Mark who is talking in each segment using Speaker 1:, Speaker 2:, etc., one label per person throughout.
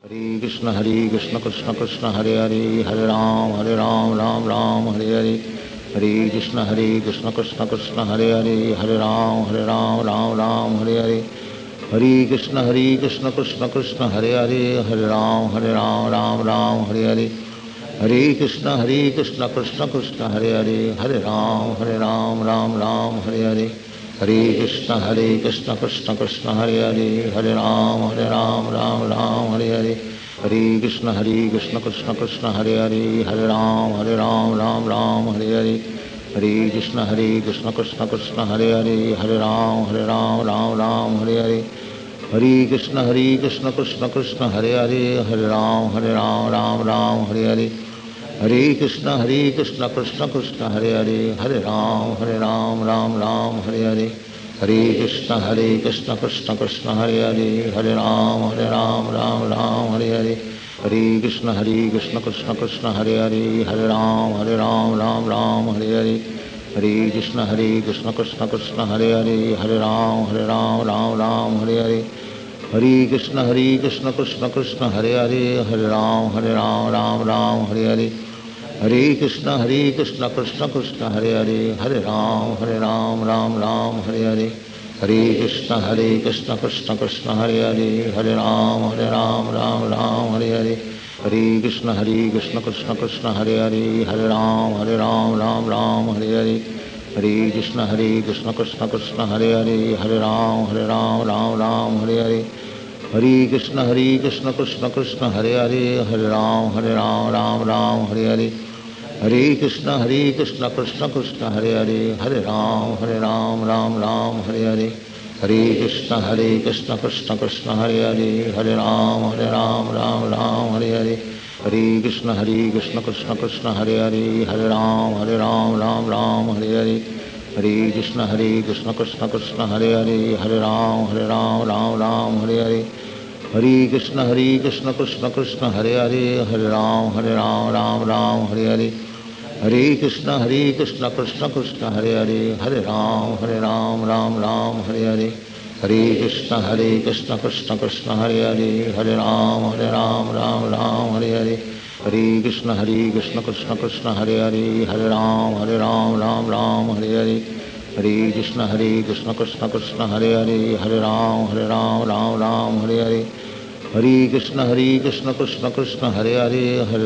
Speaker 1: Hare Krishna Krishna Krishna Hare Hare, Hare Ram Ram Ram Hare Hare, Hare Krishna Krishna Krishna Hare Hare, Hare Ram Ram Hare Hare, Hare Krishna Krishna Krishna Hare Hare, Hare Ram Ram Hare Hare, Hare Krishna Krishna Krishna Hare Hare, Hare Ram Ram Hare Hare, Hare Krishna Krishna Krishna Hare Hare, Hare Ram Ram Hare Hare, Hare Krishna Krishna Krishna Hare Hare, Hare Ram Ram Hare Hare, Hare Krishna Krishna Krishna Hare Hare, Hare Ram Hare Hare, Hare Krishna Krishna Krishna Hare Hare, Hare Ram Hare Hare, Hare Krishna Krishna Krishna Hare Hare, Hare Ram Ram Hare Hare, Hare Krishna Krishna Krishna Hare Hare, Hare Ram Ram Hare Hare, Hare Krishna Krishna Krishna Hare Hare, Hare Ram Ram Hare Hare, Hare Krishna Krishna Krishna Hare Hare, Hare Ram Hare Hare, Hare Krishna Krishna Krishna Hare Hare, Hare Ram Hare Hare, Hare Krishna Krishna Krishna Hare Hare, Hare Ram Ram Hare Hare, Hare Krishna Krishna Krishna Hare Hare, Hare Ram Ram Hare Hare, Hare Krishna Krishna Krishna Hare Hare, Hare Ram Ram Hare Hare, Hare Krishna Krishna Krishna Hare Hare, Hare Ram Hare Hare, Hare Krishna Krishna Krishna Hare Hare, Hare Ram Hare Hare, Hare Krishna Krishna Krishna Hare Hare, Hare Ram Ram Hare Hare, Hare Krishna Krishna Krishna Hare Hare, Hare Ram Ram Hare Hare, Hare Krishna Krishna Krishna Hare Hare, Hare Ram Ram Hare Hare, Hare Krishna Krishna Krishna Hare Hare, Hare Ram Hare Hare, Hare Krishna Krishna Krishna Hare Hare, Hare Ram Hare Hare, Hare Krishna Krishna Krishna Hare Hare, Hare Ram Ram Hare Hare, Hare Krishna Krishna Krishna Hare Hare, Hare Ram Ram Hare Hare, Hare Krishna Krishna Krishna Hare Hare, Hare Ram Ram Hare Hare, Hare Krishna Krishna Krishna Hare Hare, Hare Ram Hare Hare, Hare Krishna Krishna Krishna Hare Hare, Hare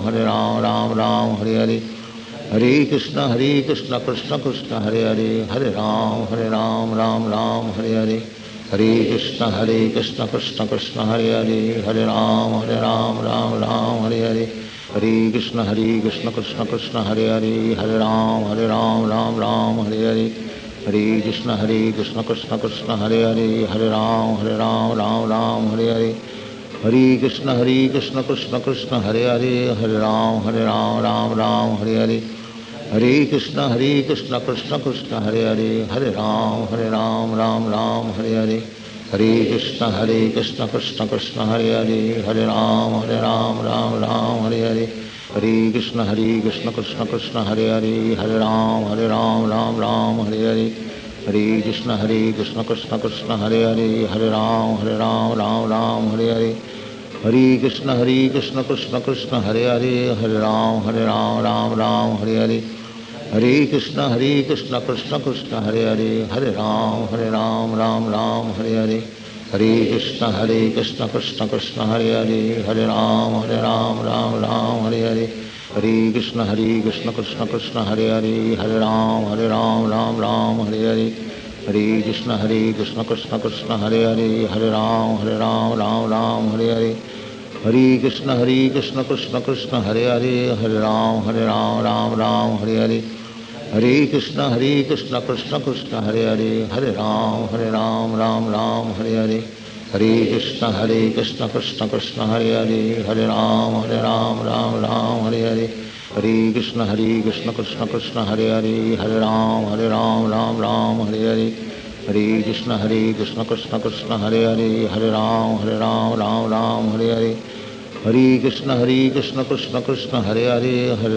Speaker 1: Ram Hare Hare, Hare Krishna Krishna Krishna Hare Hare, Hare Ram Ram Hare Hare, Hare Krishna Krishna Krishna Hare Hare, Hare Ram Ram Hare Hare, Hare Krishna Krishna Krishna Hare Hare, Hare Ram Ram Hare Hare, Hare Krishna Krishna Krishna Hare Hare, Hare Ram Hare Hare, Hare Krishna Krishna Krishna Hare Hare, Hare Ram Hare Hare, Hare Krishna Krishna Krishna Hare Hare, Hare Ram Ram Hare Hare, Hare Krishna Krishna Krishna Hare Hare, Hare Ram Ram Hare Hare, Hare Krishna Krishna Krishna Hare Hare, Hare Ram Ram Hare Hare, Hare Krishna Krishna Krishna Hare Hare, Hare Ram Hare Hare, Hare Krishna Krishna Krishna Hare Hare, Hare Ram Hare Hare, Hare Krishna Krishna Krishna Hare Hare, Hare Ram Ram Hare Hare, Hare Krishna Krishna Krishna Hare Hare, Hare Ram Ram Hare Hare, Hare Krishna Krishna Krishna Hare Hare, Hare Ram Ram Hare Hare, Hare Krishna Krishna Krishna Hare Hare, Hare Ram Hare Hare, Hare Krishna Krishna Krishna Hare Hare, Hare Ram Hare Hare, Hare Krishna Krishna Krishna Hare Hare, Hare Ram Ram Hare Hare, Hare Krishna Krishna Krishna Hare Hare, Hare Ram Ram Hare Hare, Hare Krishna Krishna Krishna Hare Hare, Hare Ram Ram Hare Hare, Hare Krishna Krishna Krishna Hare Hare, Hare Ram Hare Hare, Hare Krishna Krishna Krishna Hare Hare, Hare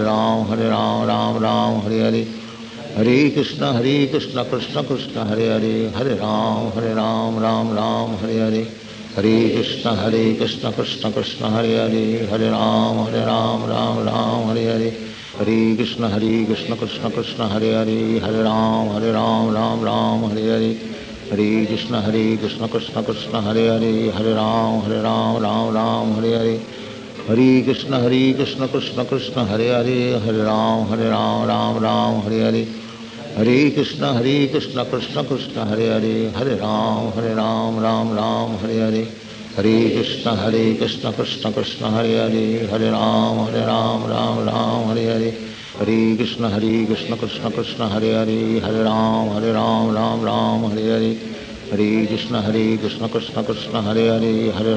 Speaker 1: Ram Hare Hare, Hare Krishna Krishna Krishna Hare Hare, Hare Ram Ram Hare Hare, Hare Krishna Krishna Krishna Hare Hare, Hare Ram Ram Ram Hare Hare, Hare Krishna Krishna Krishna Hare Hare, Hare Ram Ram Hare Hare, Hare Krishna Krishna Krishna Hare Hare, Hare Ram Ram Hare Hare, Hare Krishna Krishna Krishna Hare Hare, Hare Ram Ram Hare Hare, Hare Krishna Krishna Krishna Hare Hare, Hare Ram Ram Hare Hare, Hare Krishna Krishna Krishna Hare Hare, Hare Ram Ram Hare Hare, Hare Krishna Krishna Krishna Hare Hare, Hare Ram Ram Hare Hare, Hare Krishna Krishna Krishna Hare Hare, Hare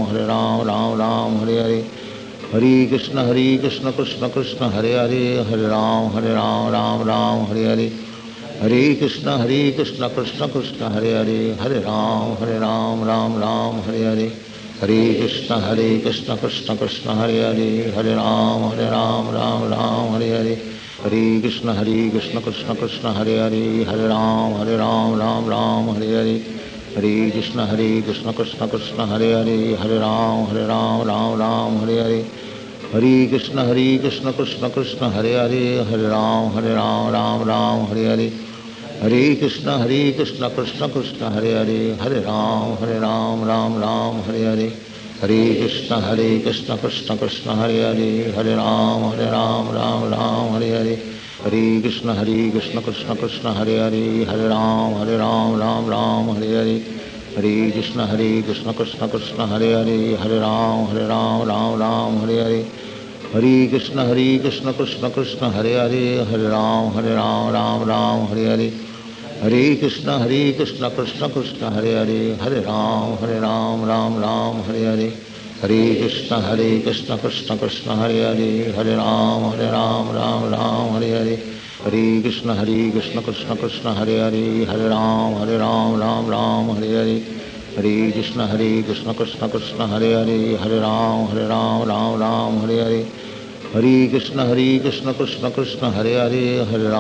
Speaker 1: Ram Hare Hare, Hare Krishna Krishna Krishna Hare Hare, Hare Ram Hare Hare, Hare Krishna Krishna Krishna Hare Hare, Hare Ram Ram Hare Hare, Hare Krishna Krishna Krishna Hare Hare, Hare Ram Ram Hare Hare, Hare Krishna Krishna Krishna Hare Hare, Hare Ram Ram Hare Hare, Hare Krishna Krishna Krishna Hare Hare, Hare Ram Hare Hare, Hare Krishna Krishna Krishna Hare Hare, Hare Ram Hare Hare, Hare Krishna Krishna Krishna Hare Hare, Hare Ram Ram Hare Hare, Hare Krishna Krishna Krishna Hare Hare, Hare Ram Ram Hare Hare, Hare Krishna Krishna Krishna Hare Hare, Hare Ram Ram Hare Hare, Hare Krishna Krishna Krishna Hare Hare, Hare Ram Hare Hare, Hare Krishna Krishna Krishna Hare Hare, Hare Ram Hare Hare, Hare Krishna Krishna Krishna Hare Hare, Hare Ram Ram Hare Hare, Hare Krishna Krishna Krishna Hare Hare, Hare Ram Ram Hare Hare, Hare Krishna Krishna Krishna Hare Hare, Hare Ram Ram Hare Hare, Hare Krishna Krishna Krishna Hare Hare, Hare Ram Hare Hare, Hare Krishna Krishna Krishna Hare Hare, Hare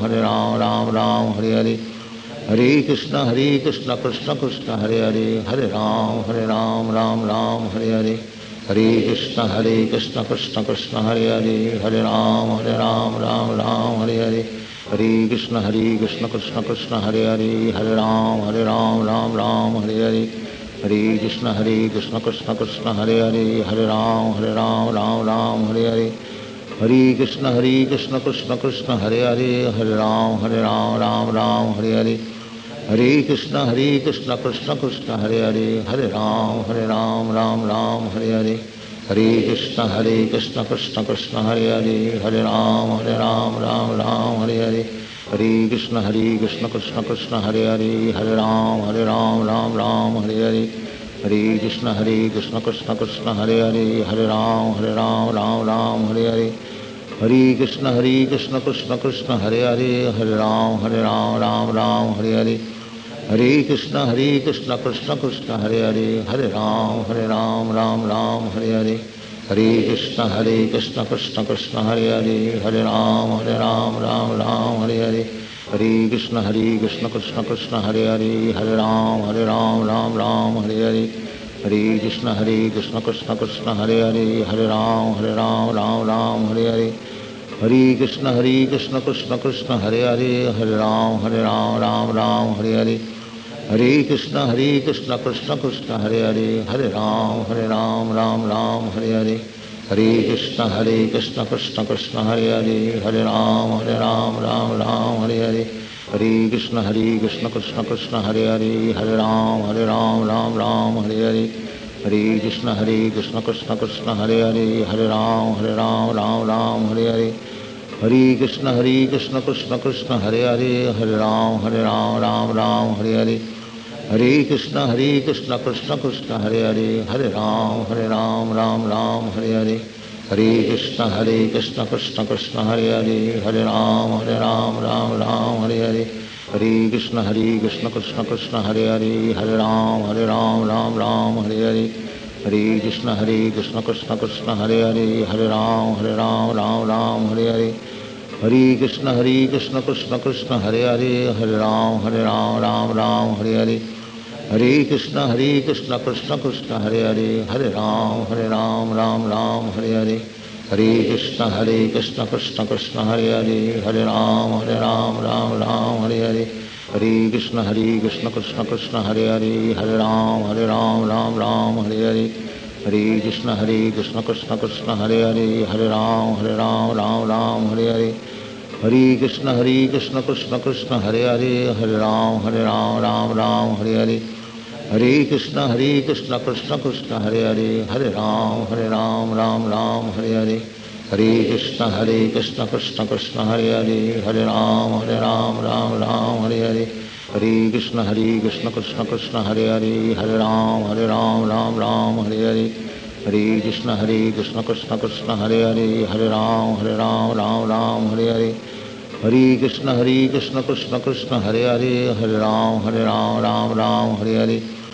Speaker 1: Ram Hare Hare, Hare Krishna Krishna Krishna Hare Hare, Hare Ram Ram Hare Hare, Hare Krishna Krishna Krishna Hare Hare, Hare Ram Ram Hare Hare, Hare Krishna Krishna Krishna Hare Hare, Hare Ram Ram Hare Hare, Hare Krishna Krishna Krishna Hare Hare, Hare Ram Hare Hare, Hare Krishna Krishna Krishna Hare Hare, Hare Ram Hare Hare, Hare Krishna Krishna Krishna Hare Hare, Hare Ram Ram Hare Hare, Hare Krishna Krishna Krishna Hare Hare, Hare Ram Ram Hare Hare, Hare Krishna Krishna Krishna Hare Hare, Hare Ram Ram Hare Hare, Hare Krishna Krishna Krishna Hare Hare, Hare Ram Hare Hare, Hare Krishna Krishna Krishna Hare Hare, Hare Ram Hare Hare, Hare Krishna Krishna Krishna Hare Hare, Hare Ram Ram Hare Hare, Hare Krishna Krishna Krishna Hare Hare, Hare Ram Ram Hare Hare, Hare Krishna Krishna Krishna Hare Hare, Hare Ram Ram Hare Hare, Hare Krishna Krishna Krishna Hare Hare, Hare Ram Hare Hare, Hare Krishna Krishna Krishna Hare Hare, Hare Ram Hare Hare, Hare Krishna Krishna Krishna Hare Hare, Hare Ram Ram Hare Hare, Hare Krishna Krishna Krishna Hare Hare, Hare Ram Ram Hare Hare, Hare Krishna Krishna Krishna Hare Hare, Hare Ram Ram Hare Hare, Hare Krishna Krishna Krishna Hare Hare, Hare Ram Hare Hare, Hare Krishna Krishna Krishna Hare Hare, Hare Ram Hare Hare, Hare Krishna Krishna Krishna Hare Hare, Hare Ram Ram Hare Hare, Hare Krishna Krishna Krishna Hare Hare, Hare Ram Ram Hare Hare, Hare Krishna Krishna Krishna Hare Hare, Hare Ram Ram Hare Hare, Hare Krishna Krishna Krishna Hare Hare, Hare Ram Hare Hare, Hare Krishna Krishna Krishna Hare Hare, Hare Ram Ram Hare Hare, Hare Krishna Krishna Krishna Hare Hare, Hare Ram Ram Ram Hare Hare, Hare Krishna Krishna Krishna Hare Hare, Hare Ram Ram Ram Hare Hare, Hare Krishna Krishna Krishna Hare Hare, Hare Ram Ram Ram Hare Hare, Hare Krishna Krishna Krishna Hare Hare, Hare Ram Ram Hare Hare, Hare Krishna Krishna Krishna Hare Hare, Hare Ram Ram Hare Hare, Hare Krishna Krishna Krishna Hare Hare, Hare Ram Ram Hare Hare, Hare Krishna Krishna Krishna Hare Hare, Hare Ram Ram Hare Hare, Hare Krishna Krishna Krishna Hare Hare, Hare Ram Ram Hare Hare, Hare Krishna Krishna Krishna Hare Hare, Hare Ram Ram Hare Hare, Hare Krishna Krishna Krishna Hare Hare, Hare Ram Ram Hare Hare,